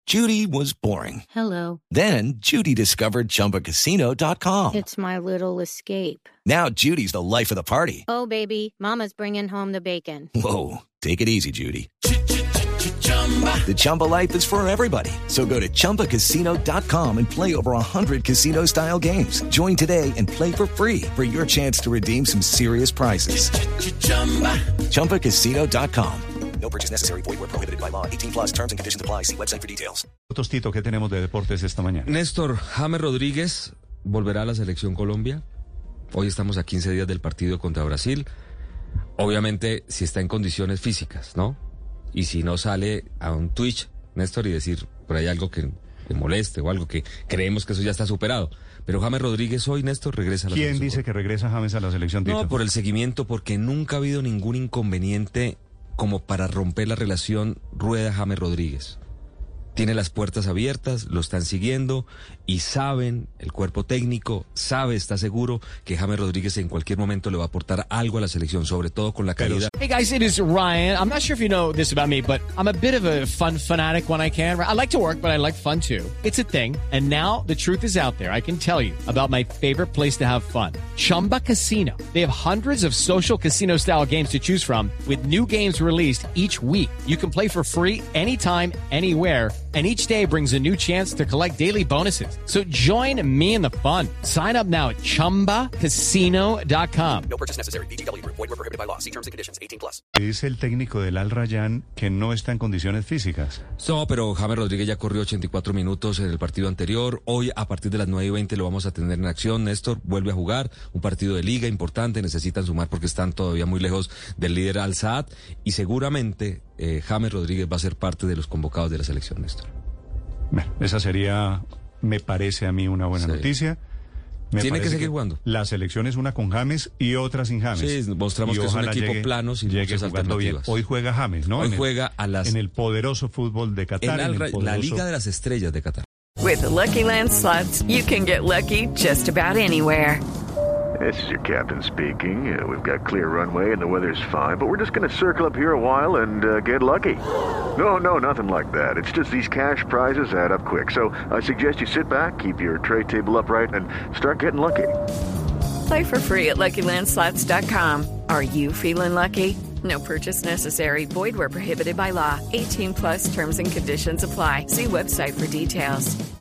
Judy was boring. Hello. Then Judy discovered ChumbaCasino.com. It's my little escape. Now Judy's the life of the party. Oh, baby, mama's bringing home the bacon. Whoa, take it easy, Judy. The Chumba life is for everybody. So go to ChumbaCasino.com and play over 100 casino-style games. Join today and play for free for your chance to redeem some serious prizes. ChumbaCasino.com. No purchase necessary. Void where prohibited by law. 18 plus terms and conditions apply. See website for details. Tostito, ¿qué tenemos de deportes esta mañana? Néstor, James Rodríguez volverá a la selección Colombia. Hoy estamos a 15 días del partido contra Brasil. Obviamente, si está en condiciones físicas, ¿no? Y si no sale a un Twitch, Néstor, y decir por ahí algo que le moleste o algo que creemos que eso ya está superado. Pero James Rodríguez hoy, Néstor, regresa a la selección. ¿Quién dice que regresa James a la selección, Tito? No, por el seguimiento, porque nunca ha habido ningún inconveniente como para romper la relación Rueda-James Rodríguez. Tiene las puertas abiertas, lo están siguiendo y saben, el cuerpo técnico sabe, está seguro que James Rodríguez en cualquier momento le va a aportar algo a la selección, sobre todo con la calidad. Hey guys, it is Ryan. I'm not sure if you know this about me, but I'm a bit of a fun fanatic when I can. I like to work, but I like fun too. It's a thing. And now the truth is out there. I can tell you about my favorite place to have fun. Chumba Casino. They have hundreds of social casino style games to choose from with new games released each week. You can play for free anytime, anywhere. And each day brings a new chance to collect daily bonuses. So join me in the fun. Sign up now at ChumbaCasino.com. No purchase necessary. VGW Group. Void where prohibited by law. See terms and conditions. 18 plus. Dice el técnico del Al Rayyan que no está en condiciones físicas. No, pero James Rodríguez ya corrió 84 minutos en el partido anterior. Hoy, a partir de las 9:20, lo vamos a tener en acción. Néstor vuelve a jugar un partido de liga importante. Necesitan sumar porque están todavía muy lejos del líder Al Saad. Y seguramente James Rodríguez va a ser parte de los convocados de la selección, Néstor. Bueno, esa sería, me parece a mí, una buena noticia. Tiene que seguir jugando. La selección es una con James y otra sin James. Sí, mostramos que es un equipo plano sin muchas alternativas. Hoy juega James, ¿no? Hoy juega en el poderoso fútbol de Qatar. La Liga de las Estrellas de Qatar. With the Lucky Land Slots, you can get lucky just about anywhere. This is your captain speaking. We've got clear runway and the weather's fine, but we're just going to circle up here a while and get lucky. No, nothing like that. It's just these cash prizes add up quick. So I suggest you sit back, keep your tray table upright, and start getting lucky. Play for free at LuckyLandSlots.com. Are you feeling lucky? No purchase necessary. Void where prohibited by law. 18 plus terms and conditions apply. See website for details.